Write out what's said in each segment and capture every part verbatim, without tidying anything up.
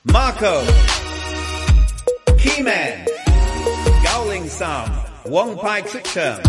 Marco Keyman 九零三王牌出場。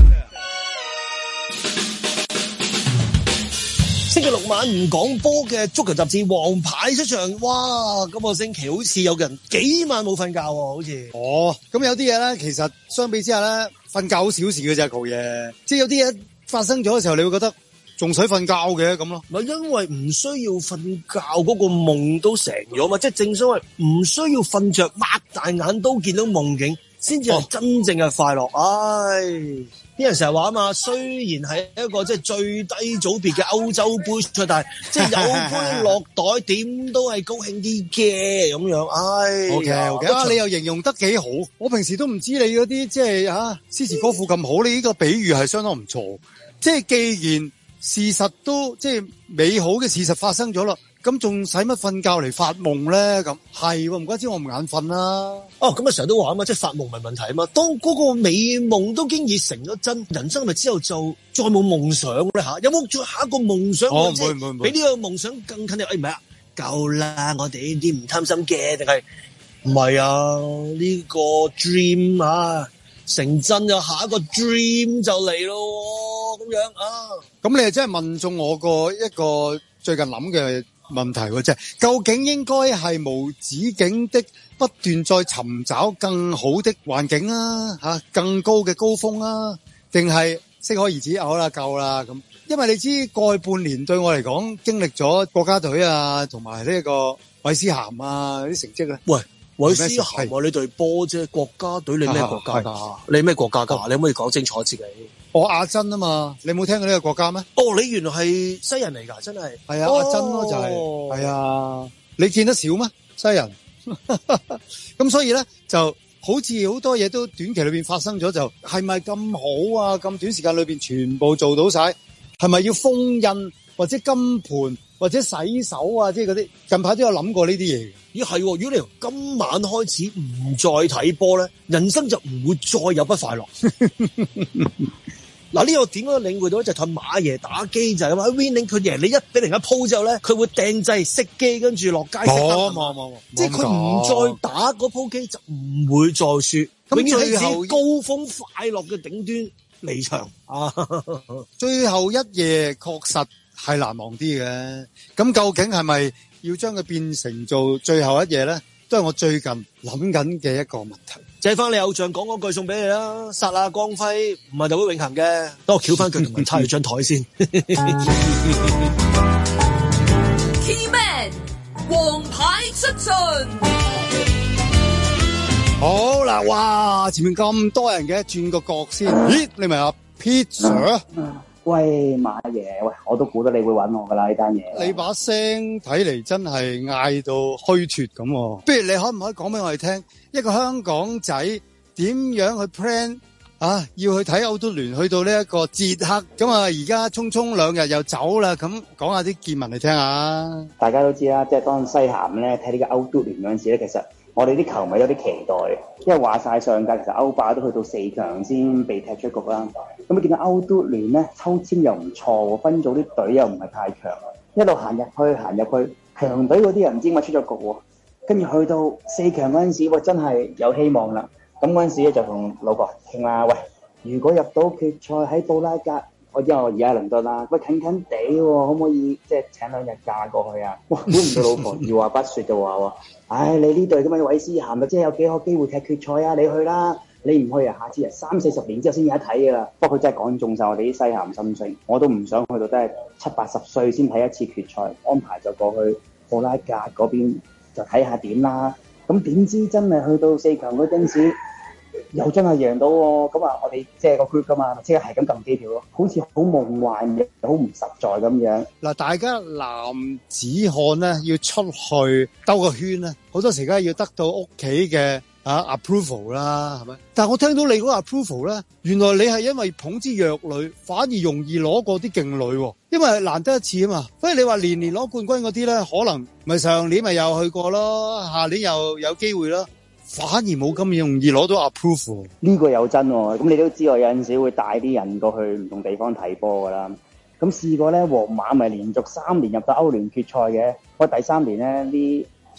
星期六晚唔講波嘅足球雜誌王牌出場，哇！今個星期好似有人幾晚冇瞓覺喎，好似。 哦，咁有啲嘢咧，其實相比之下咧，瞓覺好小事嘅啫，舊嘢。即係有啲嘢發生咗嘅時候，你會覺得仲使瞓覺嘅咁咯。 咪因為唔需要瞓覺，嗰個夢都成咗嘛，即係正所謂唔需要瞓着，擘大眼都見到夢境，先至係真正嘅快樂。唉。啲人成日話啊嘛，雖然係一個即係最低組別嘅歐洲杯賽，但係即係有杯落袋，點都係高興啲嘅咁樣。唉 ，OK OK，啊，你又形容得幾好。我平時都唔知你嗰啲即係啊詩詞歌賦咁好，你呢個比喻係相當唔錯。即係既然事實都即係美好嘅事實發生咗啦，咁仲使乜瞓覺嚟發夢咧？咁係唔怪之我唔眼瞓啦。 哦，咁啊成日都話啊嘛，即係發夢唔係問題啊嘛。當嗰個美夢都經已成咗真，人生咪之後就再冇夢想咧吓？有冇再下一個夢想？ 哦，唔會唔會唔會， 比呢個夢想更近啲？誒唔係啊，夠啦！我哋呢啲唔貪心嘅，定係唔係啊？呢、這個 dream 啊，成真就下一個 dream 就嚟咯，咁樣啊？ 咁你係真係問中我個一個最近諗嘅問題喎，即係究竟應該係無止境的不斷再尋找更好的環境啊，吓更高嘅高峰啊，定係適可而止？好啦，夠啦咁。因為你知過去半年對我嚟講，經歷咗國家隊啊，同埋呢個韋斯咸啊啲成績咧。 喂，韋斯咸啊，你隊波啫，國家隊你咩國家噶？你咩國家噶？你可唔可以講清楚自己？ 我阿珍啊嘛，你冇聽過呢個國家咩？ 哦，你原來係西人嚟噶，真係。 係啊，哦、阿珍咯就係、是，係啊，你見得少咩西人？咁所以咧，就好似好多嘢都短期裏邊發生咗，就係咪咁好啊？咁短時間裏邊全部做到晒，係咪要封印或者金盤或者洗手啊？即係嗰啲近排都有諗過呢啲嘢。 咦係，如果你由今晚開始唔再睇波咧，人生就唔會再有不快樂。嗱，呢個點樣領會到就同馬爺打機就係咁啊 ，winning 佢贏你一比零一鋪之後咧，佢會掟掣熄機，跟住落街熄燈。冇冇冇，即係佢唔再打嗰鋪機就唔會再輸，永遠喺自己高峰快樂嘅頂端離場啊！ 最後一夜確實係難忘啲嘅，咁究竟係咪要將佢變成做最後一夜咧？都係我最近諗緊嘅一個問題。 借翻你偶像講嗰句送俾你啦，剎那光輝唔係就會永恆嘅。等我翹翻佢同埋叉住張台先。 Keyman 王牌出盡。 好啦，哇！前面咁多人嘅，轉個角先。咦，你咪阿 Peter？ 喂，馬爺，喂，我都估得你會揾我噶啦呢單嘢。 你把聲睇嚟真係嗌到虛脫咁，不如你可唔可以講俾我哋聽，一個香港仔點樣去 plan 啊？要去睇歐足聯，去到呢一個捷克，咁啊而家匆匆兩日又走啦，咁講下啲見聞嚟聽下。 大家都知啦，即係當西咸咧睇呢個歐足聯嗰陣時咧，其實我哋啲球迷有啲期待，因為話晒上屆其實歐霸都去到四強先被踢出局啦。咁你見到歐足聯咧抽籤又唔錯，分組啲隊又唔係太強，一路行入去行入去，強隊嗰啲人唔知點解出咗局喎，跟住去到四強嗰陣時，喂真係有希望啦。咁嗰陣時咧就同老婆傾啦，喂，如果入到決賽喺布拉格，我知我而家喺倫敦啦，喂近近地喎，可唔可以即係請兩日假過去啊？哇，估唔到老婆二話不說就話喎，唉，你呢隊咁嘅韋斯咸啊，即係有幾個機會踢決賽啊？你去啦！你唔去啊？下次啊，三四十年之後先有得睇噶啦。不過佢真係講中晒我哋啲西咸心聲，我都唔想去到真係七八十歲先睇一次決賽，安排就過去布拉格嗰邊就睇下點啦。咁點知真係去到四強嗰陣時，又真係贏到喎。咁啊，我哋即係個 group 噶嘛，即係係咁撳機票咯，好似好夢幻嘅，好唔實在咁樣。 嗱，大家男子漢咧要出去兜個圈咧，好多時梗係要得到屋企嘅啊 approval 啦，係咪？但係我聽到你嗰個 approval 咧，原來你係因為捧支弱旅，反而容易攞過啲勁旅，因為難得一次啊嘛。所以你話年年攞冠軍嗰啲咧，可能咪上年咪又去過咯，下年又有機會咯，反而冇咁容易攞到 approval。 呢個有真喎，咁你都知我有陣時會帶啲人過去唔同地方睇波噶啦。咁試過咧，皇馬咪連續三年入到歐聯決賽嘅，我第三年咧啲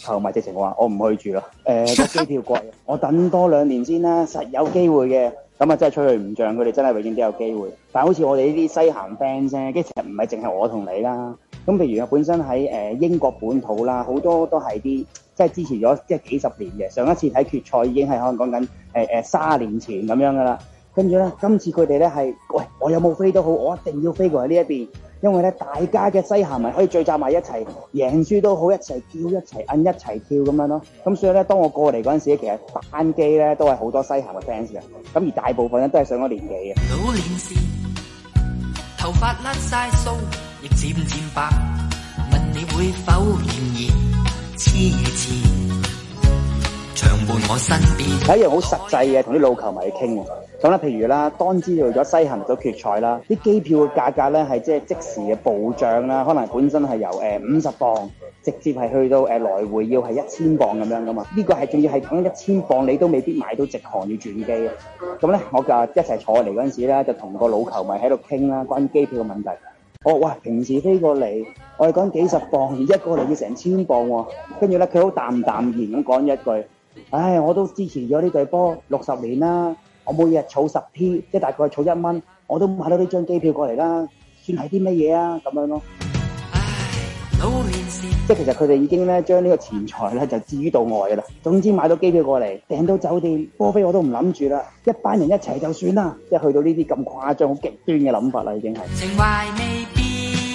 球迷直情話我唔去住啦。誒、呃、個機票貴，我等多兩年先啦，實有機會嘅。咁啊真係吹佢唔脹，佢哋真係永遠都有機會。但係好似我哋呢啲西咸 fans 啫，其實唔係淨係我同你啦。咁譬如本身喺誒英國本土啦，好多都係啲即係支持咗即係幾十年嘅。上一次睇決賽已經係可能講緊誒誒卅年前咁樣噶啦。跟住咧，今次佢哋咧係，喂，我有冇飛都好，我一定要飛過嚟呢一邊，因為咧大家嘅西咸迷可以聚集埋一齊，贏輸都好，一齊叫一齊摁一齊跳咁樣咯。咁所以咧，當我過嚟嗰陣時咧，其實班機咧都係好多西咸嘅 fans 嘅，咁而大部分咧都係上咗年紀嘅。 老年時頭髮甩晒鬚，亦漸漸白，問你會否仍然痴痴長伴我身邊？ 有一樣好實際嘅，同啲老球迷去傾喎。咁咧，譬如啦，當知道咗西咸入咗決賽啦，啲機票嘅價格咧係即係即時嘅暴漲啦，可能本身係由誒五十磅直接係去到誒來回要係一千磅咁樣噶嘛。呢個係仲要係講一千磅，你都未必買到直航要轉機嘅。咁咧，我就一齊坐嚟嗰陣時咧，就同個老球迷喺度傾啦，關於機票嘅問題。我話哇，平時飛過嚟，我哋講幾十磅，而家過嚟要成千磅喎。跟住咧，佢好淡淡然咁講一句：唉，我都支持咗呢隊波六十年啦。我每日儲十 P， 即係大概儲一蚊，我都買到呢張機票過嚟啦，算係啲乜嘢啊？咁樣咯。 唉，老年時即係其實佢哋已經咧將呢個錢財咧就置於度外噶啦。總之買到機票過嚟，訂到酒店，波飛我都唔諗住啦，一班人一齊就算啦。即係去到呢啲咁誇張、好極端嘅諗法啦，已經係。 情懷未變。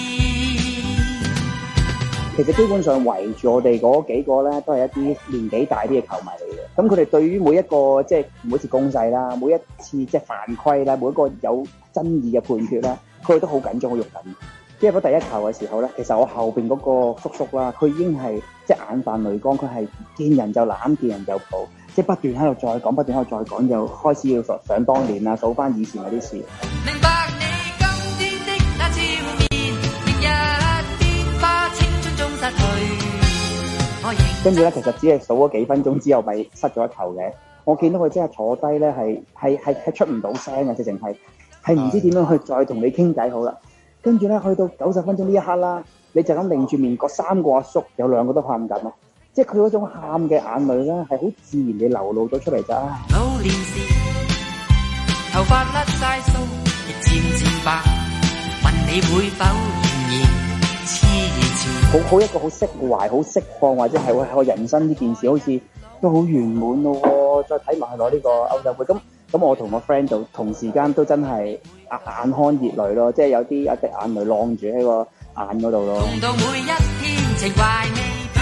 其實基本上圍住我哋嗰幾個咧，都係一啲年紀大啲嘅球迷嚟嘅。咁佢哋對於每一個即係每一次攻勢啦，每一次即係犯規啦，每一個有爭議嘅判決啦，佢哋都好緊張、好肉緊。即係入咗第一球嘅時候咧，其實我後邊嗰個叔叔啦，佢已經係即係眼泛淚光，佢係見人就攬，見人就抱，即係不斷喺度再講，不斷喺度再講，就開始要想想當年啊，數翻以前嗰啲事。 明白你今天的那笑面，明日變化青春中失去。 跟住咧，其實只係數咗幾分鐘之後，咪失咗一球嘅。我見到佢真係坐低咧，係係係係出唔到聲嘅，直情係係唔知點樣去再同你傾偈好啦。跟住咧，去到九十分鐘呢一刻啦，你就咁擰住面，嗰三個阿叔有兩個都喊緊咯。即係佢嗰種喊嘅眼淚咧，係好自然地流露咗出嚟咋。 老年時頭髮甩晒鬚，亦漸漸白，問你會否仍然好好一個好釋懷、好釋放，或者係我人生呢件事好似都好圓滿咯。再睇埋去攞呢個歐洲杯，咁咁我同我 friend 就同時間都真係眼眼眶熱淚咯，即係有啲一滴眼淚晾住喺個眼嗰度咯。 同到每一天情懷未變。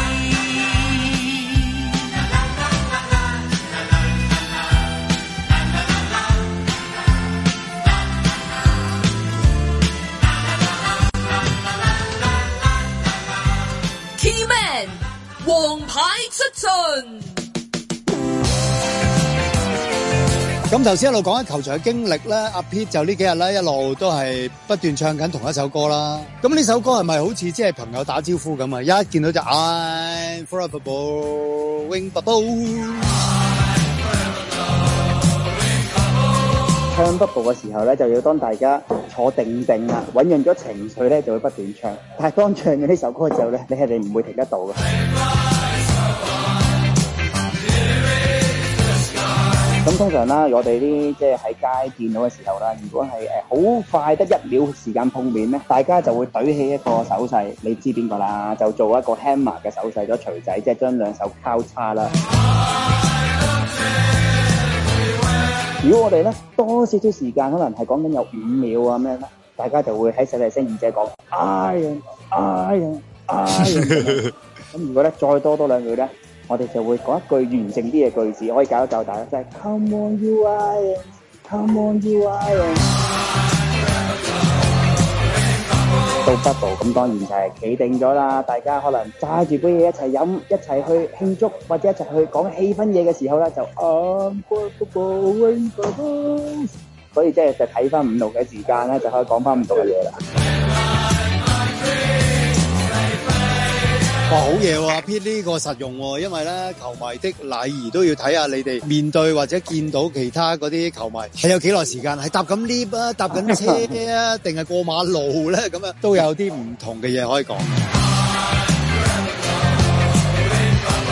王牌出盡。 咁頭先一路講緊球場嘅經歷咧，阿 Pete 就呢幾日咧一路都係不斷唱緊同一首歌啦。咁呢首歌係咪好似即係朋友打招呼咁啊？一見到就 I'm forever wing bubble。 唱 bubble 嘅時候咧，就要當大家坐定定啦，醞釀咗情緒咧，就會不斷唱。但係當唱咗呢首歌之後咧，你係你唔會停得到嘅。咁通常啦，我哋啲即係喺街見到嘅時候啦，如果係誒好快得一秒時間碰面咧，大家就會舉起一個手勢，你知邊個啦？就做一個 hammer 嘅手勢，咗錘仔，即係將兩手交叉啦。如果我哋咧多少少時間，可能係講緊有五秒啊咩咧，大家就會喺細細聲耳仔講 Iron Iron Iron。咁如果咧再多多兩句咧，我哋就會講一句完整啲嘅句子，可以教一教大家，就係 Come on you Iron Come on you Iron。到 bubble 咁當然就係企定咗啦，大家可能揸住杯嘢一齊飲，一齊去慶祝，或者一齊去講氣氛嘢嘅時候咧，就 I'm bubble wing bubble。所以即係就睇翻唔同嘅時間咧，就可以講翻唔同嘅嘢啦。 哇，好嘢喎！阿 Pete 呢個實用喎，因為咧球迷的禮儀都要睇下你哋面對或者見到其他嗰啲球迷係有幾耐時間，係搭緊 lift 啊，搭緊車啊，定係過馬路咧，咁樣都有啲唔同嘅嘢可以講。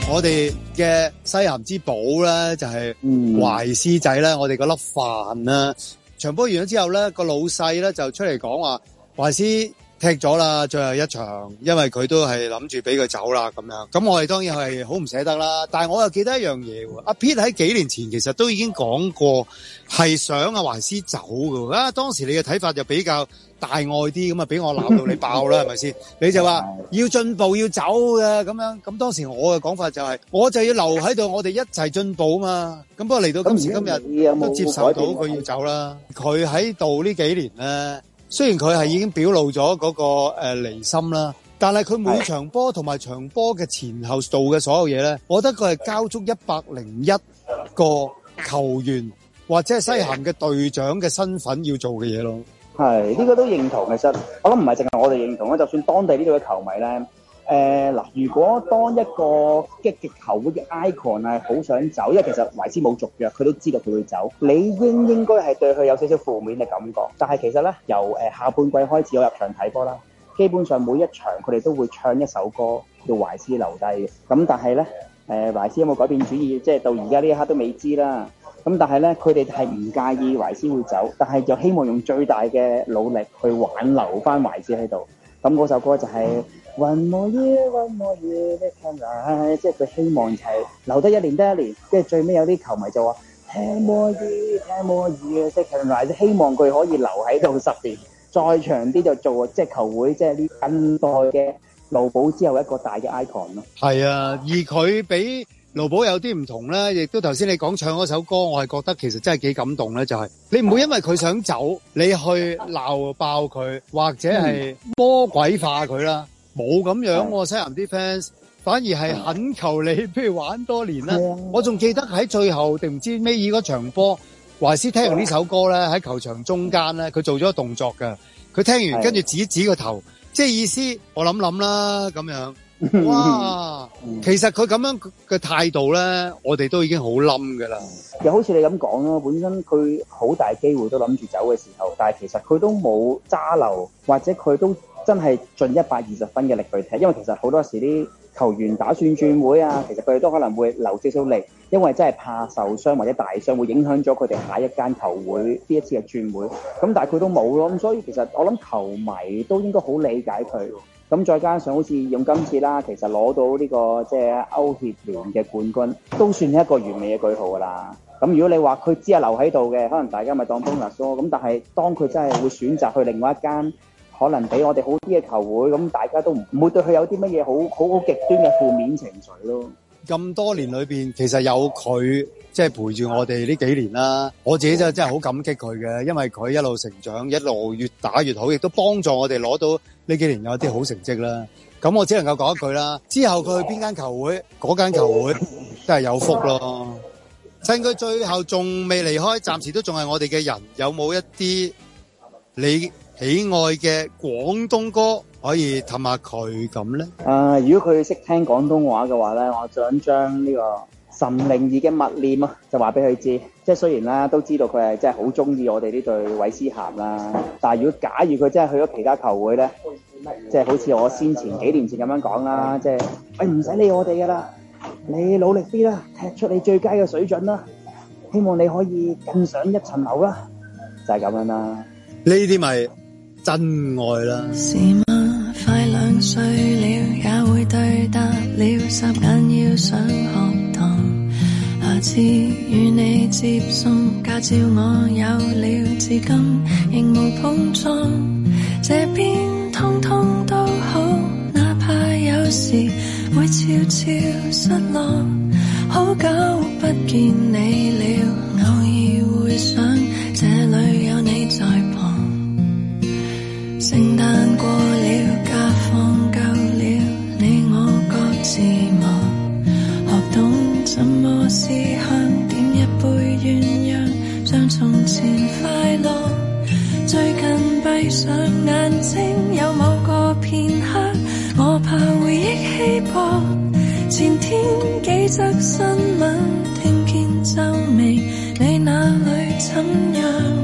我哋嘅西咸之寶咧就係懷斯仔咧，我哋嗰粒飯啦。場波完咗之後咧，個老細咧就出嚟講話懷斯踢咗啦，最後一場，因為佢都係諗住俾佢走啦咁樣。咁我哋當然係好唔捨得啦。但係我又記得一樣嘢喎，阿 Pete 喺幾年前其實都已經講過係想阿懷斯走㗎。啊，當時你嘅睇法就比較大愛啲，咁啊俾我鬧到你爆啦，係咪先？你就話要進步要走嘅咁樣。咁當時我嘅講法就係、是，我就要留喺度，我哋一齊進步嘛。咁不過嚟到今時今日都接受到佢要走啦。佢喺度呢幾年咧。雖然佢係已經表露咗嗰個誒離心啦，但係佢每場波同埋場波嘅前後做嘅所有嘢咧，我覺得佢係交足一百零一個球員或者係西咸嘅隊長嘅身份要做嘅嘢咯。 係呢、這個都認同，其實我諗唔係淨係我哋認同啦，就算當地呢度嘅球迷咧。誒嗱，如果當一個激極球會嘅 icon 係好想走，因為其實懷斯冇續約，佢都知道佢會走，理應應該係對佢有少少負面嘅感覺。但係其實咧，由誒下半季開始我入場睇波啦，基本上每一場佢哋都會唱一首歌叫懷斯留低嘅。咁但係咧，誒懷斯有冇改變主意？即係到而家呢一刻都未知啦。咁但係咧，佢哋係唔介意懷斯會走，但係就希望用最大嘅努力去挽留翻懷斯喺度。咁嗰首歌就係、是。One more year, one more year, they can rise， 即係佢希望就係留得一年得一年，跟住最尾有啲球迷就話 Ten more years, ten more years, they can rise， 希望佢可以留喺度十年，再長啲就做即係球會即係呢近代嘅盧寶之後一個大嘅 icon 咯。係啊，而佢比盧寶有啲唔同咧，亦都頭先你講唱嗰首歌，我係覺得其實真係幾感動咧，就係、是、你唔會因為佢想走，你去鬧爆佢，或者係魔鬼化佢啦。冇咁樣喎，西咸啲 fans 反而係懇求你，譬如玩多年啦。我仲記得喺最後定唔知尾二嗰場波，懷斯聽完呢首歌咧，喺球場中間咧，佢做咗個動作㗎。佢聽完跟住指指個頭，即係意思我諗諗啦咁樣。哇！其實佢咁樣嘅態度咧，我哋都已經好冧㗎啦。 又好似你咁講咯，本身佢好大機會都諗住走嘅時候，但係其實佢都冇揸流，或者佢都。真係盡一百二十分嘅力去踢，因為其實好多時啲球員打算轉會啊，其實佢哋都可能會留少少力，因為真係怕受傷或者大傷會影響咗佢哋下一間球會呢一次嘅轉會。咁但係佢都冇咯，咁所以其實我諗球迷都應該好理解佢。咁再加上好似用今次啦，其實攞到呢個即係歐協聯嘅冠軍，都算係一個完美嘅句號㗎啦。咁如果你話佢只係留喺度嘅，可能大家咪當 bonus 咯。咁但係當佢真係會選擇去另外一間。可能比我哋好啲嘅球會，咁大家都唔會對佢有啲乜嘢好好好極端嘅負面情緒咯。 咁多年裏邊，其實有佢即係陪住我哋呢幾年啦。我自己就真係好感激佢嘅，因為佢一路成長，一路越打越好，亦都幫助我哋攞到呢幾年有啲好成績啦。咁我只能夠講一句啦，之後佢去邊間球會，嗰間球會真係有福咯。趁佢最後仲未離開，暫時都仲係我哋嘅人，有冇一啲你喜愛嘅廣東歌可以氹下佢咁咧？ 啊，如果佢識聽廣東話嘅話咧，我想將呢個岑寧兒嘅默念啊，就話俾佢知。即係雖然啦，都知道佢係真係好中意我哋呢隊韋斯咸啦，但係如果假如佢真係去咗其他球會咧，即係好似我先前幾年前咁樣講啦，即係喂唔使理我哋噶啦，你努力啲啦，踢出你最佳嘅水準啦，希望你可以更上一層樓啦，就係咁樣啦。 呢啲咪真愛啦！ 是嗎？快兩歲了，也會對答了，霎眼要上學堂。下次與你接送，駕照我有了，至今仍無碰撞。這邊通通都好，哪怕有時會悄悄失落。好久不見你了，偶爾會想這裡有你在旁。聖誕過了，假放夠了，你我各自忙，學懂怎麼思鄉，點一杯鴛鴦，像從前快樂。最近閉上眼睛，有某個片刻，我怕回憶稀薄。前天幾則新聞，聽見皺眉，你那裡怎樣？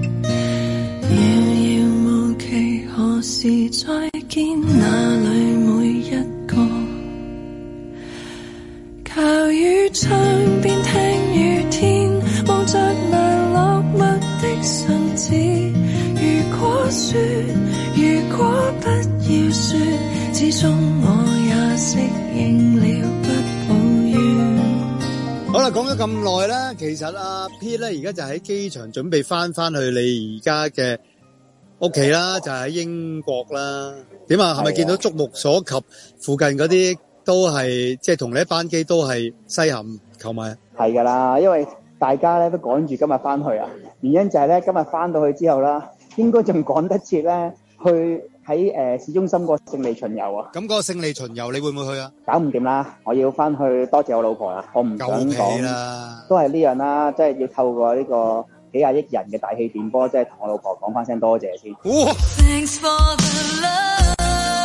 何時再見？哪裡每一個下雨窗邊聽雨天，望着那落寞的信紙。如果說，如果不要說，始終我也適應了，不抱怨。 好啦，講咗咁耐啦，其實阿 Pete 咧而家就喺機場準備翻翻去你而家嘅屋企啦，就喺英國啦。點啊？係咪見到觸目所及附近嗰啲都係即係同你一班機都係西咸球迷？ 係噶啦，因為大家咧都趕住今日翻去啊。原因就係咧今日翻到去之後啦，應該仲趕得切咧去喺誒、呃、市中心個勝利巡遊啊。咁個勝利巡遊你會唔會去啊？搞唔掂啦，我要翻去多謝我老婆啦，我唔想講啦，都係呢樣啦，即係要透過呢個幾廿億人嘅大氣電波，即係同我老婆講翻聲多謝先。哇 Thanks for the love.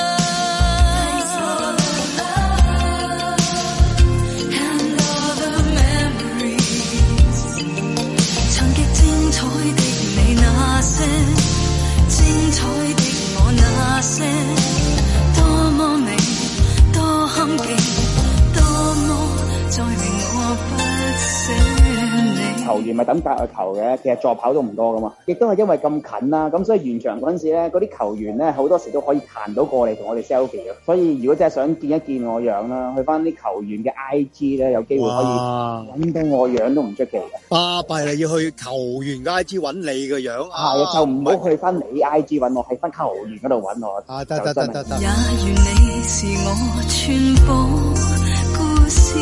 精彩的我那些多麼美多坎坷，多麼再令我不捨你。 球員咪等隔日球嘅，其實助跑都唔多噶嘛，亦都係因為咁近啦，咁所以完場嗰陣時咧，嗰啲球員咧好多時都可以彈到過嚟同我哋 selfie 嘅。所以如果真係想見一見我樣啦，去翻啲球員嘅 I G 咧，有機會可以揾到我樣都唔出奇嘅。 巴閉啦，要去球員嘅 I G 揾你嘅樣啊， 係啊，就唔好去翻你 I G 揾我，喺翻球員嗰度揾我。 啊，得得得得得。 也願你是我全部故事，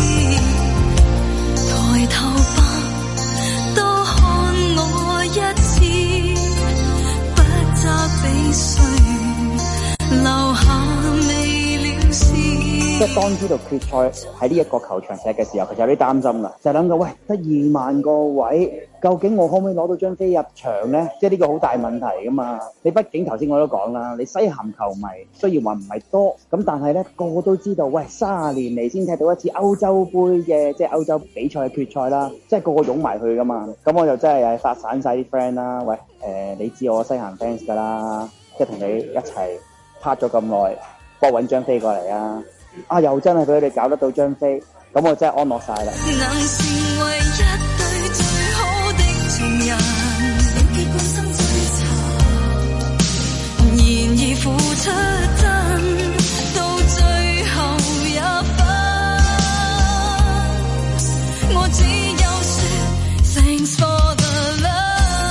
抬頭吧，多看我一次，不責備誰，留下未了事。即係當知道決賽喺呢一個球場踢嘅時候，其實有啲擔心啦，就係諗到喂，得二萬個位，究竟我可唔可以攞到張飛入場咧？即係呢個好大問題噶嘛。你畢竟頭先我都講啦，你西咸球迷雖然話唔係多，咁但係咧個個都知道，喂，三十年嚟先踢到一次歐洲杯嘅即係歐洲比賽嘅決賽啦，即係個個湧埋去噶嘛。咁我就真係發散晒啲 friend 啦，喂，誒、呃，你知我西咸 fans 噶啦，即係同你一齊拍咗咁耐，幫我搵張飛過嚟啊！啊，又真係俾佢哋搞得到張飛，咁我真係安樂晒啦。能成為一對最好的情人，結果心最慘，然而付出真，到最後也分。我只有說 Thanks for the love。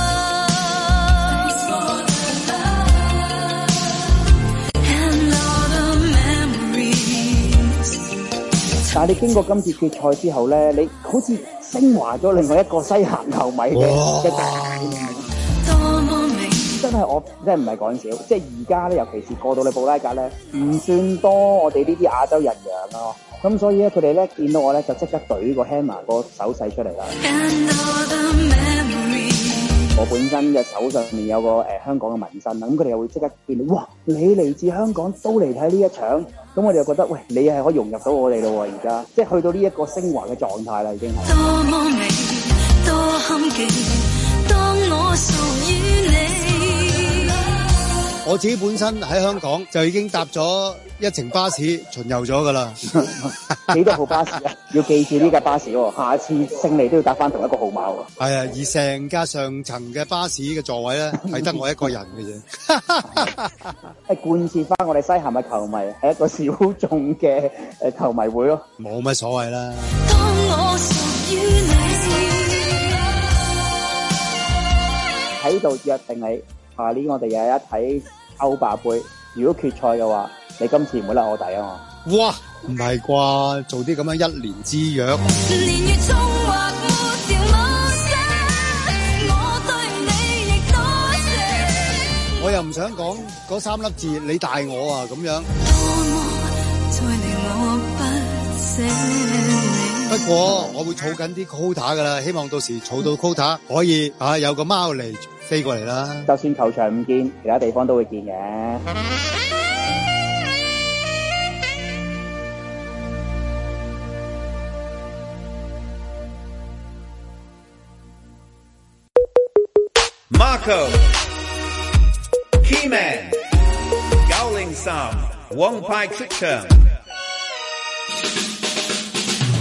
但係你經過今次決賽之後咧，你好似升華咗另外一個西咸球迷嘅嘅大名。真係我真係唔係講笑，即係而家咧，尤其是過到你布拉格咧，唔算多我哋呢啲亞洲人樣咯。咁所以咧，佢哋咧見到我咧，就即刻舉個 hammer 個手勢出嚟啦。我本身嘅手上面有個誒、呃、香港嘅紋身啦，咁佢哋又會即刻見到，哇！你嚟自香港都嚟睇呢一場，咁我哋就覺得，喂，你係可以融入到我哋咯喎！而家即係去到呢一個升華嘅狀態啦，已經係。多麼美，多坎坷，當我屬於你。 我自己本身喺香港就已經搭咗一程巴士巡遊咗噶啦。 幾多號巴士啊？要記住呢架巴士喎，下次勝利都要搭翻同一個號碼喎。 係啊，而成架上層嘅巴士嘅座位咧，係得我一個人嘅啫。 係貫徹翻我哋西咸嘅球迷係一個小眾嘅誒球迷會咯。 冇乜所謂啦。 當我屬於你， 喺度約定你，下年我哋有一睇歐霸杯。如果決賽嘅話，你今次唔會甩我底啊嘛！ 哇，唔係啩？做啲咁樣一年之約。年月中或沒條冇聲，我對你亦多謝。我又唔想講嗰三粒字，你大我啊咁樣。多麼再令我不捨你。不過我會儲緊啲 quota 噶啦，希望到時儲到 quota 可以啊有個貓嚟飛過嚟啦。 就算球場唔見，其他地方都會見嘅。 Marco Keyman Gowling Sam Wong Pai Chicheng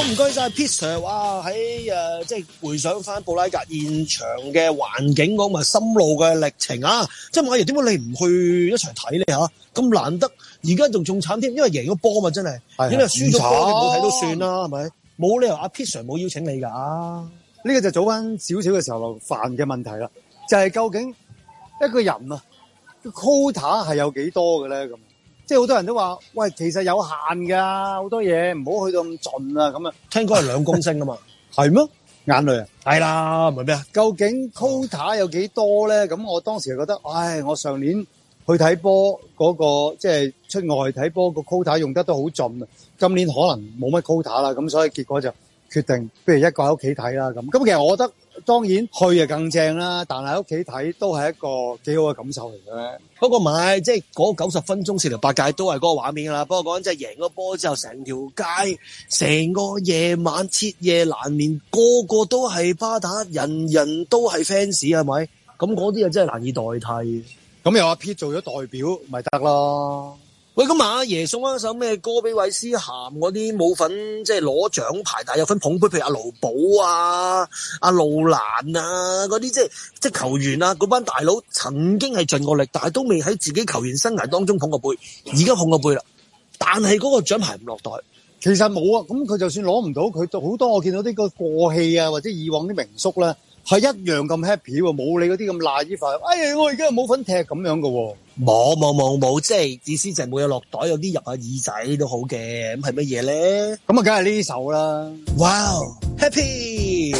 唔該晒 Pete Sir， 哇喺誒即係回想翻布拉格現場嘅環境講埋心路嘅歷程啊！即係馬爺點解你唔去一齊睇咧吓？咁難得，而家仲仲慘添，因為贏咗波嘛，真係。係。因為輸咗波，你冇睇都算啦，係咪？冇理由阿 Pete Sir 冇邀請你噶。呢個就早翻少少嘅時候犯嘅問題啦，就係、是、究竟一個人啊，個 quota 係有幾多嘅咧？咁即係好多人都話，喂，其實有限噶，好多嘢唔好去到咁盡啊，咁啊，聽講係兩公升啊嘛，係咩？眼淚啊，係啦，唔係咩啊？究竟 quota 有幾多咧？咁我當時就覺得，唉，我上年去睇波嗰個即係出外睇波個 quota 用得都好盡啊，今年可能冇乜 quota 啦，咁所以結果就決定，不如一個喺屋企睇啦咁。咁其實我覺得當然去就更正啦，但係喺屋企睇都係一個幾好嘅感受嚟嘅。不過唔係，即係嗰九十分鐘四條八界都係嗰個畫面噶啦。不過講緊即係贏咗波之後，成條街、成個夜晚徹夜難眠，個個都係巴打，人人都係 fans 係咪？咁嗰啲啊真係難以代替。咁由阿 Pete 做咗代表，咪得咯。喂，咁阿爺送翻首咩歌俾韋斯咸嗰啲冇份即係攞獎牌，但係有份捧杯，譬如阿盧寶啊、阿路蘭啊嗰啲，即係即係球員啊，嗰班大佬曾經係盡過力，但係都未喺自己球員生涯當中捧過杯，而家捧過杯啦。但係嗰個獎牌唔落袋，其實冇啊。咁佢就算攞唔到，佢好多我見到啲個過氣啊，或者以往啲名宿咧，係一樣咁 happy 喎，冇你嗰啲咁賴依塊。哎呀，我而家冇份踢咁樣噶喎。冇冇冇冇，即係意思就係冇有落袋，有啲入下耳仔都好嘅。咁係乜嘢咧？咁啊，梗係呢首啦。Wow, happy。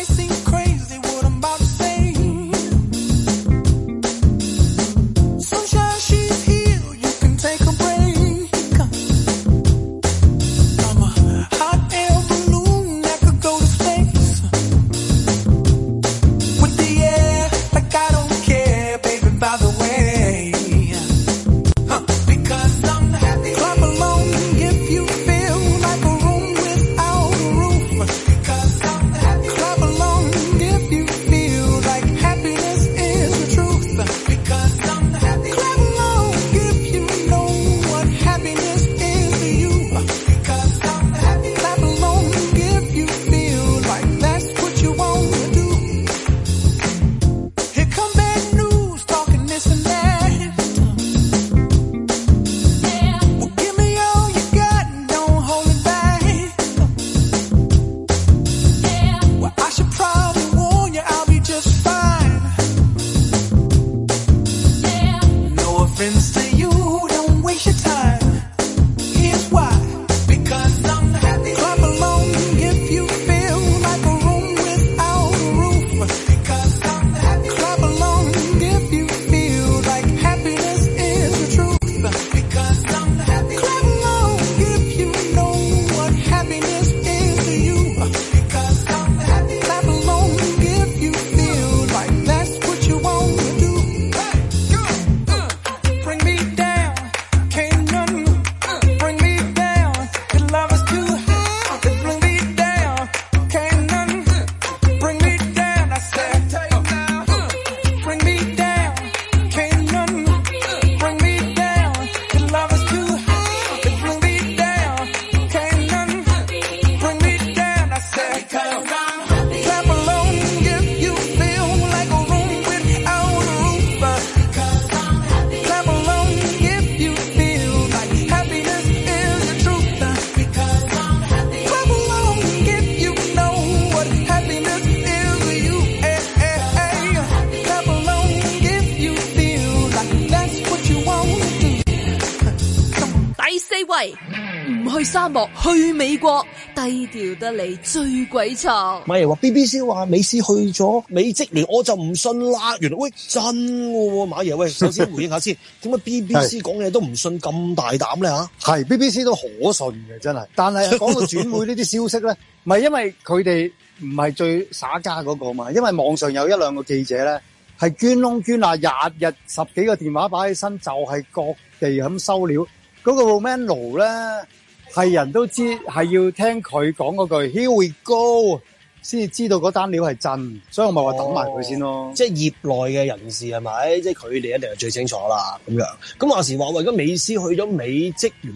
沙漠去美國，低調得嚟最鬼錯。 馬爺話 B B C 話美斯去咗美職聯，我就唔信啦。原來喂真喎，馬爺喂，首先回應下先，點解 B B C 講嘢都唔信咁大膽咧吓？係 B B C 都可信嘅，真係。但係講到轉會呢啲消息咧，唔係因為佢哋唔係最耍家嗰個嘛，因為網上有一兩個記者咧係捐窿捐罅，廿日十幾個電話擺起身，就係、是、各地咁收料。嗰、那個 Romano 咧。係人都知係要聽佢講嗰句 Here we go 先至知道嗰單料係真，所以我咪話等埋佢先咯。哦、即係業內嘅人士係咪？即係佢哋一定係最清楚啦。咁樣咁話時話為咗美斯去咗美職聯，咦？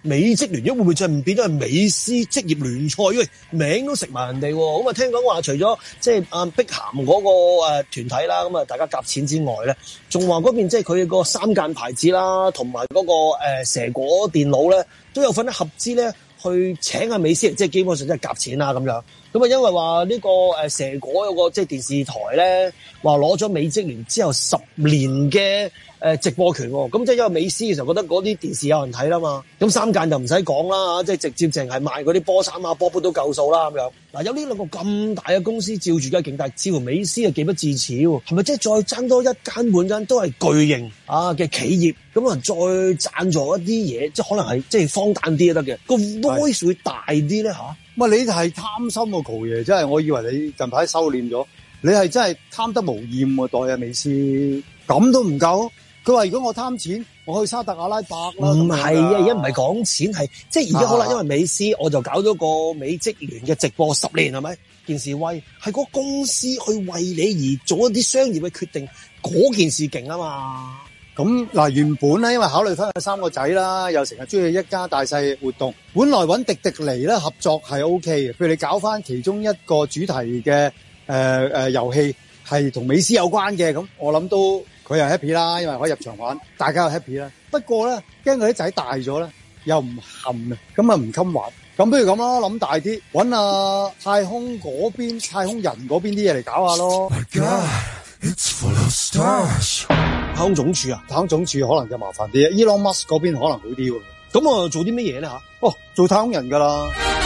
美職聯，會唔會就唔變咗係美斯職業聯賽？因為名都食埋人哋喎。咁啊，聽講話除咗即係阿碧咸嗰個誒團體啦，咁啊大家夾錢之外咧，仲話嗰邊即係佢個三間牌子啦，同埋嗰個誒蛇果電腦咧，都有份合資咧去請阿美斯，即係基本上即係夾錢啦咁樣。咁啊，因為話呢個誒蛇果有個即係電視台咧，話攞咗美職聯之後十年嘅誒直播權喎。咁即係因為美斯嘅時候覺得嗰啲電視有人睇啦嘛。咁三間就唔使講啦，即係直接淨係賣嗰啲波衫啊、波杯都夠數啦咁樣。嗱，有呢兩個咁大嘅公司照住梗係勁大，似乎美斯係幾不智齒喎。係咪即係再爭多一間半間都係巨型啊嘅企業？咁啊再贊助一啲嘢，即係可能係即係荒誕啲都得嘅，個 voice 會大啲咧嚇。 唔係你係貪心喎，豪爺，真係我以為你近排收斂咗，你係真係貪得無厭喎，代阿美斯咁都唔夠。佢話如果我貪錢，我去沙特阿拉伯啦。 唔係啊，而家唔係講錢，係即係而家好啦，因為美斯我就搞咗個美職聯嘅直播十年係咪？件事威係嗰公司去為你而做一啲商業嘅決定，嗰件事勁啊嘛。 咁嗱，原本咧，因為考慮翻佢三個仔啦，又成日中意一家大細活動，本來揾迪迪尼咧合作係 O K 嘅。譬如你搞翻其中一個主題嘅誒誒遊戲係同美斯有關嘅，咁我諗都佢又 happy 啦，因為可以入場玩，大家又 happy 啦。不過咧，驚佢啲仔大咗咧，又唔冚啊，咁啊唔襟玩。咁不如咁啦，諗大啲，揾啊太空嗰邊、太空人嗰邊啲嘢嚟搞下咯。 My God, it's full of stars. 太空總署啊， 太空總署可能就麻煩啲，Elon Musk 嗰邊可能好啲喎。 咁我做啲乜嘢咧吓？ 哦，做太空人噶啦。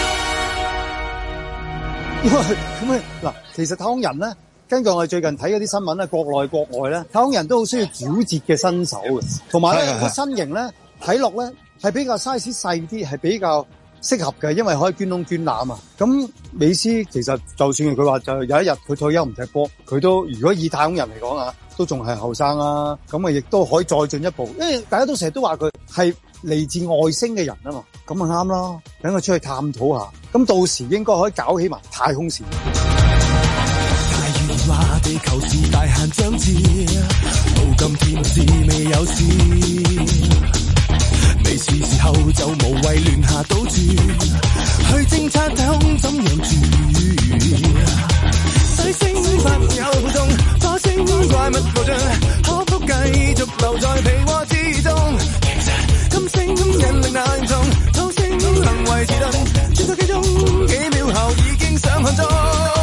因為咁啊嗱，其實太空人咧，根據我哋最近睇嗰啲新聞咧，國內國外咧，太空人都好需要矯捷嘅身手嘅，同埋咧個身形咧睇落咧係比較 size 細啲，係比較適合嘅，因為可以捐窿捐罅啊。咁美斯其實就算佢話就有一日佢退休唔踢波，佢都如果以太空人嚟講啊，都仲係後生啊，咁啊亦都可以再進一步，因為大家都成日都話佢係嚟自外星嘅人啊嘛，咁啊啱啦，等佢出去探討下，咁到時應該可以搞起埋太空線。 太原話地球是大限將至，到今天是未有事，未是時候就無謂亂下賭注，去偵察太空怎樣住。水星發有互動，火星怪物無盡，可否繼續留在被窩之中？其實金星引力難從，土星能維持頓，轉數幾鐘幾秒後已經上看中。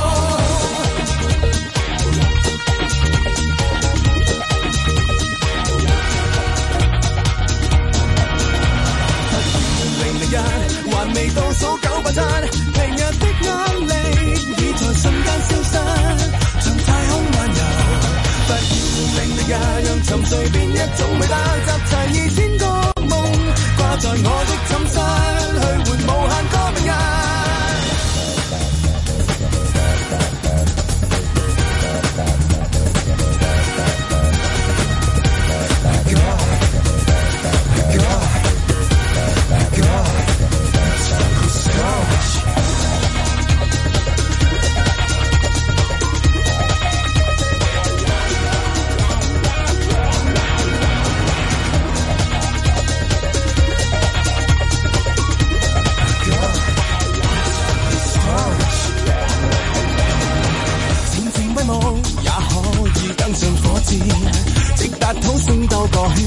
還未倒數九百七，平日的壓力已在瞬間消失，像太空漫遊。不要令力也讓沉睡變一種美德，集齊二千個夢掛在我的寢室，去換無限個明日。直達土星兜個圈，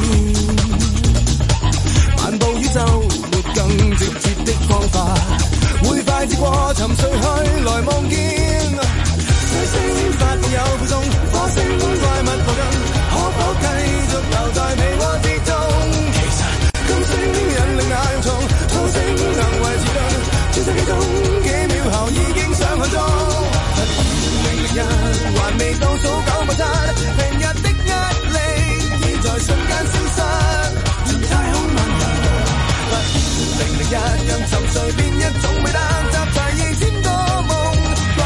漫步宇宙沒更直接的方法，會快捷過沉睡去來望見。水星發有負重，火星怪物無盡，可否繼續留在被窩之中？其實金星引力那樣重，土星能維持頓，轉數幾鐘幾秒後已經上看中。令力人還未倒數九百七，平日的壓力已在瞬間消失，如太空漫遊。不要令力人讓沉睡變一種美德，集齊二千個夢掛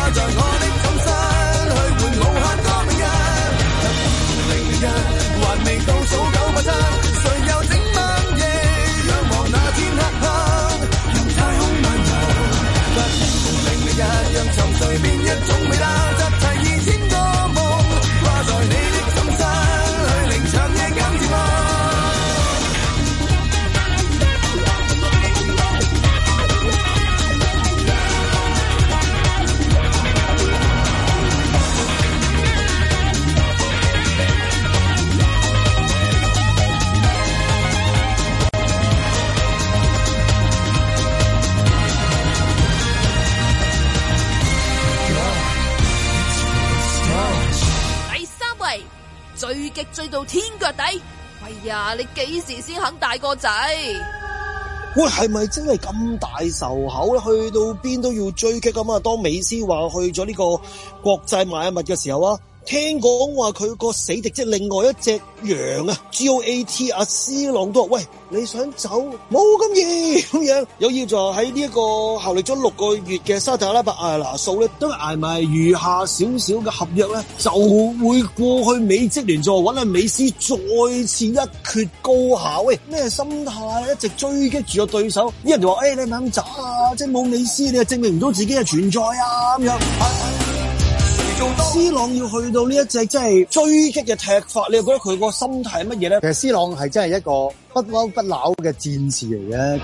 追到天腳底。喂呀，你幾時先肯大個仔？ 喂，係咪真係咁大仇口咧？去到邊都要追擊咁啊！當美斯話去咗呢個國際邁阿密嘅時候啊，聽講話佢個死敵即係另外一隻羊啊 ，G O A T 阿 C 朗都話：喂，你想走冇咁易咁樣，有要就喺呢一個效力咗六個月嘅沙特阿拉伯艾拿素咧，都捱埋餘下少少嘅合約咧，就會過去美職聯再揾阿美斯再次一決高下。喂，咩心態？一直追擊住個對手，啲人就話：誒、欸，你咪咁渣啊！即係冇美斯，你又證明唔到自己嘅存在啊！咁樣。C 朗要去到呢一隻真係追擊嘅踢法，你又覺得佢個心態係乜嘢咧？ 其實 C 朗係真係一個不嬲不撓嘅戰士嚟嘅，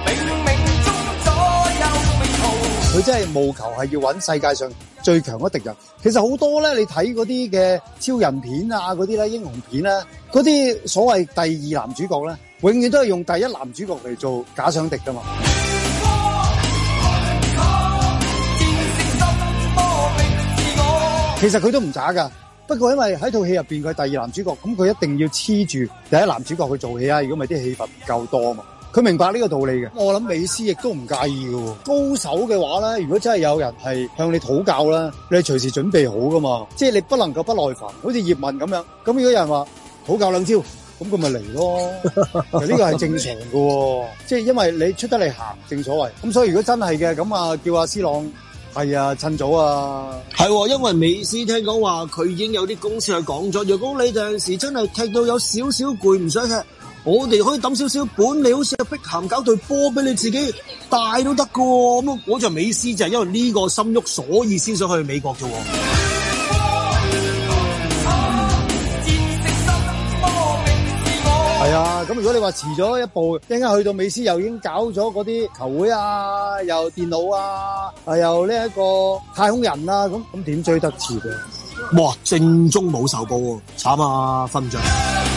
佢真係務求係要揾世界上最強嘅敵人。其實好多咧，你睇嗰啲嘅超人片啊，嗰啲咧英雄片咧，嗰啲所謂第二男主角咧，永遠都係用第一男主角嚟做假想敵噶嘛。其實佢都唔渣噶，不過因為喺套戲入邊佢係第二男主角，咁佢一定要黐住第一男主角去做戲啊！如果唔係啲戲份唔夠多啊嘛，佢明白呢個道理嘅。我諗美斯亦都唔介意嘅。高手嘅話咧，如果真係有人係向你討教啦，你隨時準備好噶嘛，即係你不能夠不耐煩，好似葉問咁樣。咁如果有人話討教兩招，咁佢咪嚟咯。其實呢個係正常嘅，即係因為你出得嚟行，正所謂。咁所以如果真係嘅，咁啊叫阿 C 朗。係啊，趁早啊！ 係，因為美斯聽講話佢已經有啲公司去講咗，如果你有陣時真係踢到有少少攰唔想踢，我哋可以抌少少本，你好似阿碧咸搞隊波俾你自己帶都得噶。咁我就美斯就係因為呢個心喐，所以先想去美國啫。 係啊，咁如果你話遲咗一步，一陣間去到美斯又已經搞咗嗰啲球會啊，又電腦啊，啊又呢一個太空人啊，咁咁點追得切啊？ 哇，正宗冇仇報喎，慘啊，瞓唔着。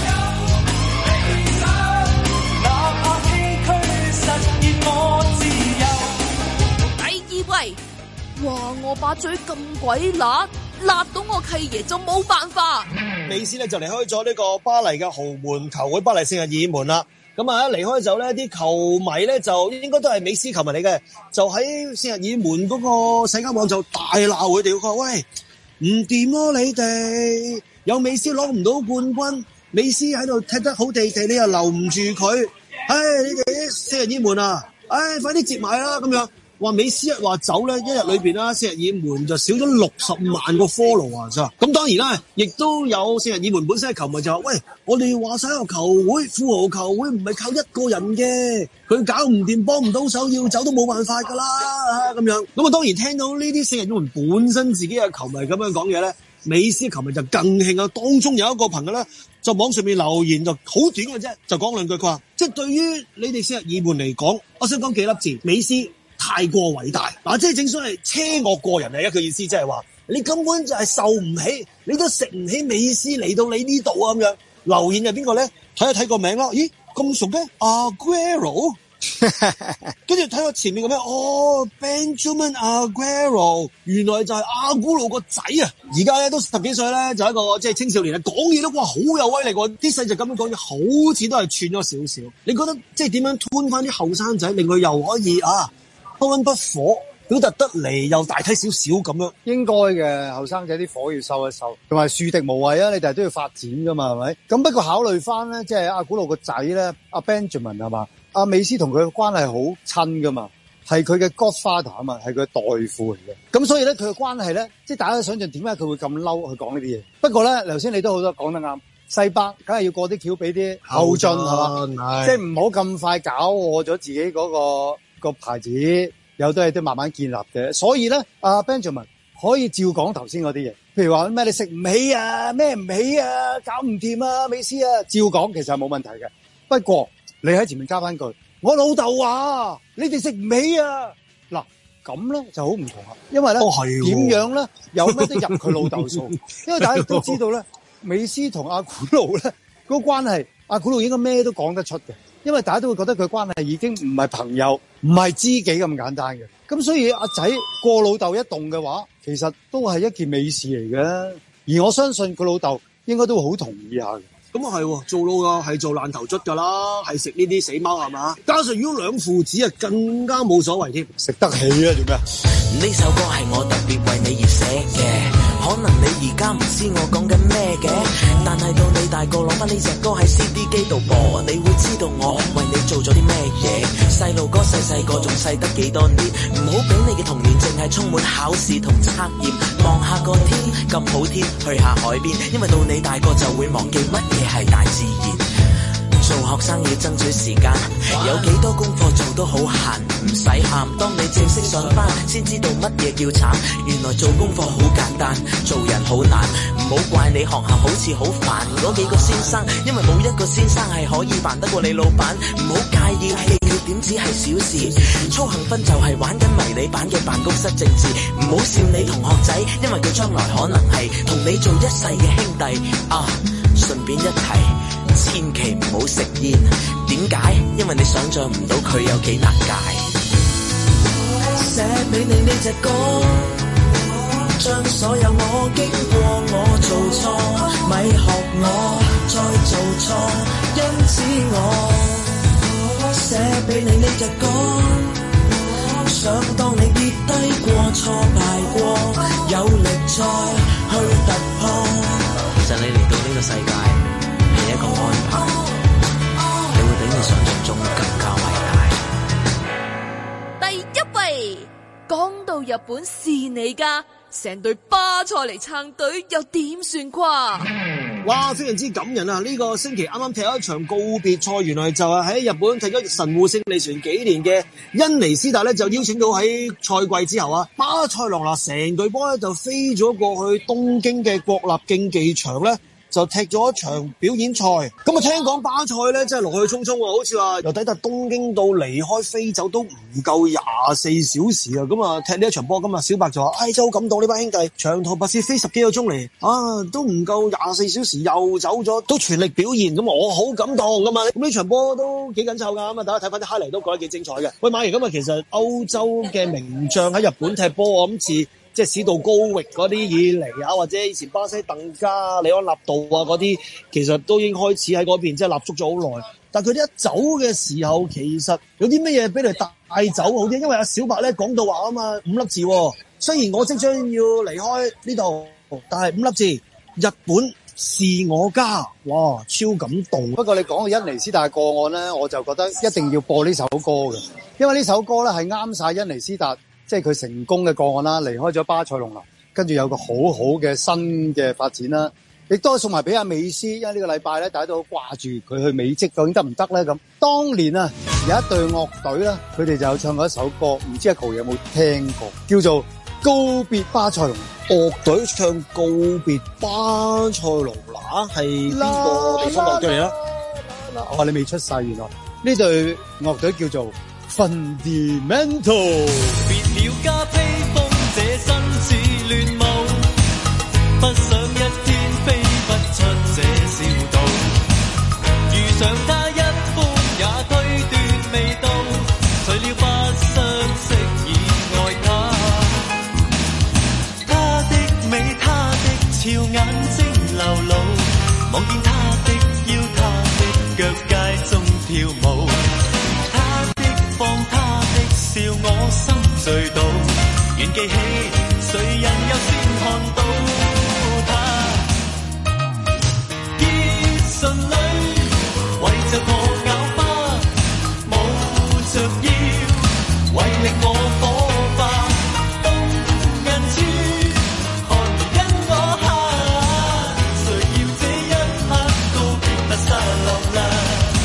第二位，哇，我把嘴咁鬼辣，辣到我契爺就冇辦法。 美斯咧就離開咗呢個巴黎嘅豪門球會巴黎聖日耳門啦。咁啊，離開咗咧，啲球迷咧就應該都係美斯球迷嚟嘅，就喺聖日耳門嗰個社交網就大鬧佢哋，佢話：喂，唔掂咯，你哋有美斯攞唔到冠軍，美斯喺度踢得好地地，你又留唔住佢，唉，你哋啲聖日耳門啊，唉，快啲接埋啦咁樣。話美斯一話走咧，一日裏邊啦，聖日耳門就少咗六十萬個 follow 啊！咋咁當然啦，亦都有聖日耳門本身嘅球迷就話：喂，我哋話晒個球會富豪球會唔係靠一個人嘅，佢搞唔掂，幫唔到手，要走都冇辦法噶啦咁樣。咁啊，當然聽到呢啲聖日耳門本身自己嘅球迷咁樣講嘢咧，美斯球迷就更興啊！當中有一個朋友咧，就網上面留言就好短嘅啫，就講兩句，佢話：即係對於你哋聖日耳門嚟講，我想講幾粒字，美斯太過偉大嗱，即係正所謂車我過人嚟嘅，佢意思即係話你根本就係受唔起，你都食唔起美斯嚟到你呢度啊咁樣。留言係邊個咧？睇一睇個名啦，咦咁熟嘅 Aguero， 跟住睇個前面個咩？哦 Benjamin Aguero， 原來就係阿古路個仔啊！而家咧都十幾歲咧，就一個即係青少年啦，講嘢都哇好有威力喎！啲細就咁樣講嘢，好似都係串咗少少。你覺得即係點樣吞翻啲後生仔，令佢又可以啊？不溫不火，表達得嚟又大體少少咁樣， 應該嘅。後生仔啲火要收一收，同埋樹敵無謂啊！你哋都要發展噶嘛，係咪？咁不過考慮翻咧，即係阿古路個仔咧，阿 Benjamin 係嘛？阿美斯同佢嘅關係好親噶嘛，係佢嘅 Godfather 啊嘛，係佢嘅代父嚟嘅。咁所以咧，佢嘅關係咧，即係大家都想象點解佢會咁嬲去講呢啲嘢。不過咧，頭先你都好多講得啱，西北梗係要過啲橋俾啲後進係嘛，即係唔好咁快搞禍咗自己嗰個。個牌子有都係都慢慢建立嘅，所以咧，阿 Benjamin 可以照講頭先嗰啲嘢，譬如話咩你食唔起啊，咩唔起啊，搞唔掂啊，美斯啊，照講其實係冇問題嘅。不過你喺前面加翻句，我老豆話你哋食唔起啊，嗱咁咧就好唔同啦，因為咧點樣咧有咩都入佢老豆數，因為大家都知道咧，美斯同阿古路咧嗰個關係，阿古路應該咩都講得出嘅。因為大家都會覺得佢關係已經唔係朋友，唔係知己咁簡單嘅，咁所以阿仔過老豆一動嘅話，其實都係一件美事嚟嘅。而我相信佢老豆應該都會好同意下嘅。 咁啊係，做老嘅係做爛頭卒噶啦，係食呢啲死貓係嘛？加上如果兩父子啊，更加冇所謂添， 食得起啊？做咩？ 呢首歌係我特別為你而寫嘅，可能你而家唔知我講緊咩嘅，但係到你大個攞翻呢隻歌喺 C D 機度播，你會知道我為你做咗啲咩嘢。細路哥細細個仲細得幾多年，唔好俾你嘅童年淨係充滿考試同測驗。望下個天咁好天，去下海邊，因為到你大個就會忘記乜嘢係大自然。做學生要爭取時間，有幾多功課做都好閒，唔使喊。當你正式上班，先知道乜嘢叫慘。原來做功課好簡單，做人好難。唔好怪你學校好似好煩嗰幾個先生，因為冇一個先生係可以煩得過你老闆。唔好介意你缺點只係小事，操行分就係玩緊迷你版嘅辦公室政治。唔好笑你同學仔，因為佢將來可能係同你做一世嘅兄弟啊。順便一提，千祈唔好食煙。點解？因為你想象唔到佢有幾難戒。寫俾你呢隻歌，將所有我經過我做錯，咪學我再做錯。因此我寫俾你呢隻歌，想當你跌低過挫敗過，有力再去突破。其實你嚟到呢個世界係一個安排，你會比你想象中更加偉大。 第一位，講到日本是你家，成隊巴塞嚟撐隊又點算啩？ 哇，非常之感人啊！呢、這個星期啱啱踢咗一場告別賽，原來就係喺日本踢咗神戶勝利船幾年嘅恩尼斯達咧，就邀請到喺賽季之後啊，巴塞羅那成隊波咧就飛咗過去東京嘅國立競技場咧，就踢咗一場表演賽。咁啊，聽講巴塞咧真係來去匆匆喎，好似話由抵達東京到離開飛走都唔夠廿四小時啊！咁啊，踢呢一場波，咁啊，小白就話：唉，真係好感動呢班兄弟，長途跋涉飛十幾個鐘嚟，啊，都唔夠廿四小時又走咗，都全力表現，咁我好感動噶嘛！咁呢場波都幾緊湊噶，咁啊，大家睇翻啲 highlight 都覺得幾精彩嘅。喂，馬爺，咁啊，其實歐洲嘅名將喺日本踢波，我諗似即係史度高域嗰啲以嚟啊，或者以前巴西鄧加、里安納度啊嗰啲，其實都已經開始喺嗰邊即係立足咗好耐。但佢哋一走嘅時候，其實有啲乜嘢俾你帶走好啲？因為阿小白咧講到話啊嘛，五粒字，雖然我即將要離開呢度，但係五粒字，日本是我家，哇，超感動。 不過你講到恩尼斯達個案咧，我就覺得一定要播呢首歌嘅，因為呢首歌咧係啱晒恩尼斯達。即係佢成功嘅個案啦，離開咗巴塞隆拿，跟住有個好好嘅新嘅發展啦，亦都送埋俾阿美斯，因為呢個禮拜咧大家都好掛住佢去美職，究竟得唔得咧？咁當年啊有一隊樂隊咧，佢哋就有唱過一首歌，唔知阿 Cool 有冇聽過，叫做《告別巴塞隆拿》。 樂隊唱《告別巴塞隆拿》係邊個地方樂隊嚟啦？ 哦，你未出世，原來呢隊樂隊叫做Fundamental。 別了加披風，這身似亂舞，不想一天飛不出這小島。遇上他一歡也推斷未到，除了不相識以愛他。他的美，他的俏眼睛流露，望見他的腰，他的腳街中跳舞。放他的笑，我心醉倒，願記起誰人又先看到他。結順裏為着我咬花，冇着腰為令我火化。東銀處何如因我下，誰要這一刻告別不失落啦。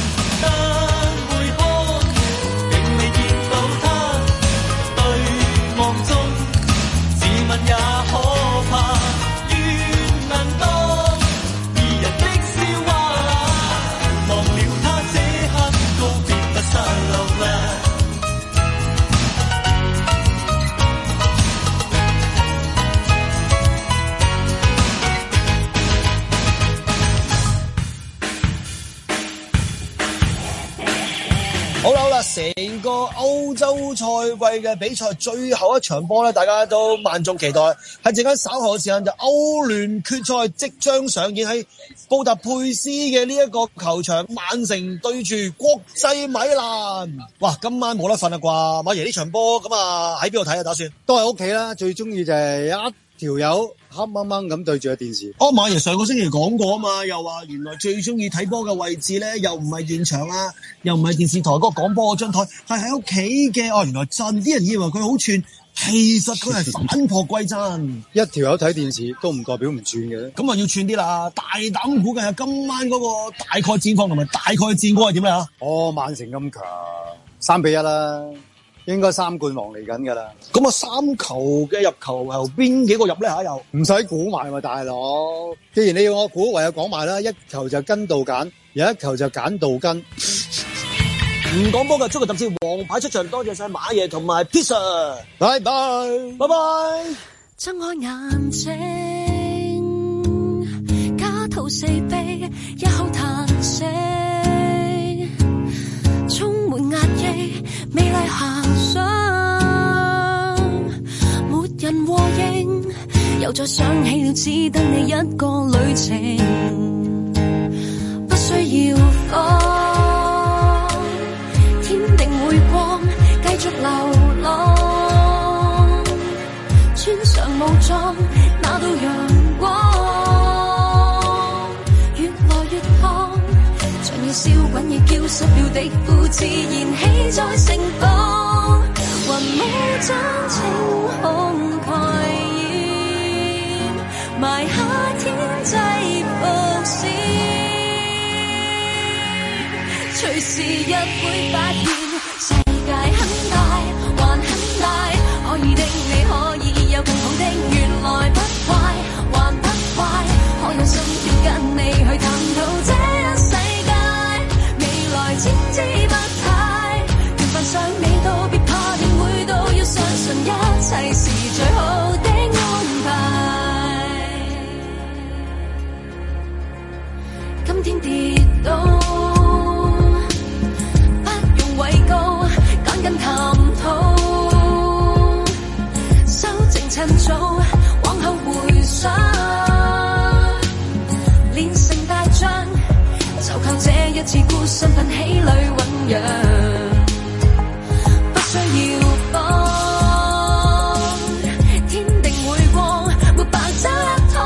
也可怕，願能當二人的笑話，忘了他這刻告別不失落啦。 好啦好啦， 成個歐洲賽季嘅比賽最後一場波咧，大家都萬眾期待。喺陣間稍後嘅時間就歐聯決賽即將上演喺布達佩斯嘅呢一個球場，曼城對住國際米蘭。哇，今晚冇得瞓啦啩，馬爺呢場波咁啊喺邊度睇啊？打算都係屋企啦，最中意就係一條友黑掹掹咁對住個電視。 哦，馬爺上個星期講過啊嘛，又話原來最中意睇波嘅位置咧，又唔係現場啊，又唔係電視台嗰個廣播嗰張台，係喺屋企嘅。哦，原來真，啲人以為佢好串，其實佢係反璞歸真。 一條友睇電視都唔代表唔串嘅， 咁啊要串啲啦。大膽估計下今晚嗰個大概戰況同埋大概戰果係點咧嚇？ 哦，曼城咁強，三比一啦。應該三冠王嚟緊噶啦， 咁啊三球嘅入球由邊幾個入咧吓？又唔使估埋喎，大佬。既然你要我估，唯有講埋啦。一球就跟道揀，有一球就揀道根。 唔講波嘅足球特輯王牌出場，多謝晒馬爺同埋 Pizza， 拜拜拜拜。 睜開眼睛，家徒四壁，一口嘆息，充滿壓抑，美麗遐想，沒人和應，又再想起了只得你一個旅程，不需要慌，天定會光，繼續流浪，穿上武裝，拿到陽光，越來越燙，像要燒滾已焦濕了的褲，自然起在盛放，雲霧將晴空蓋掩，埋下天際伏線，隨時日會發現世界很大，還很大，可以的你可以有更好的，原來不壞，還不壞，可有心跳跟你去探討這一世界，未來千姿百態，緣分尚未到，別怕定會到，要相信一切是最好的安排。今天跌倒，不用畏高，趕緊探討，修正趁早，往後回想，練成大將，就靠這一次孤身奮起裏醞釀，不需要慌，天定會光，沒白走一趟，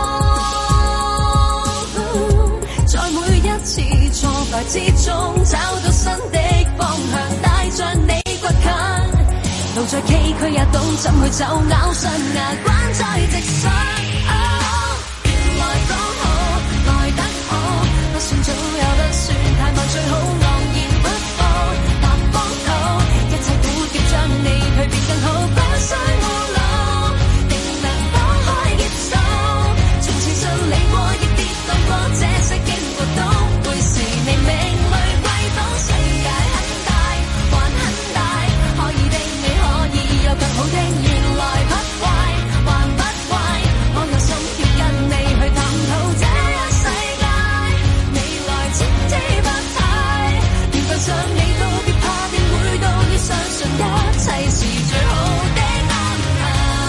在每一次挫敗之中找到新的方向，帶着你倔強，路再崎嶇也懂怎去走，咬上牙關再直上。哦，原來剛好來得好，不算早也不算太慢，最好昂然不放，踏荒土，一切苦澀將你蛻變更好，不需懊惱，定能放開接受，從前順利過亦跌宕過，這些經過都會是你命裏貴寶，世界很大，還很大，可以的你可以有更好的，原來不壞，還不壞，可有心跳跟你去探討這一世界，未來千姿百態，緣分尚未到，別怕定會到，要相信一切是最好的安排，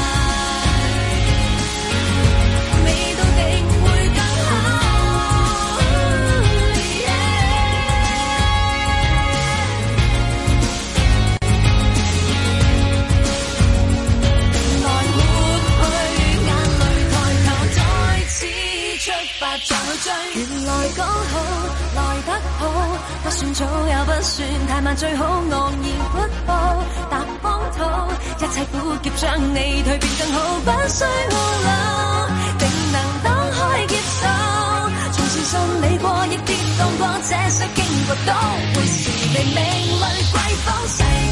未到定會更好。來抹去眼淚，抬頭再次出發再去追，原來剛好來得好，不算早也不算太慢，最好昂然不步踏荒土，一切苦澀將你蛻變更好，不需懊惱，定能當開接受，從前順利過亦跌宕過，這些經過都會是你命裏貴寶。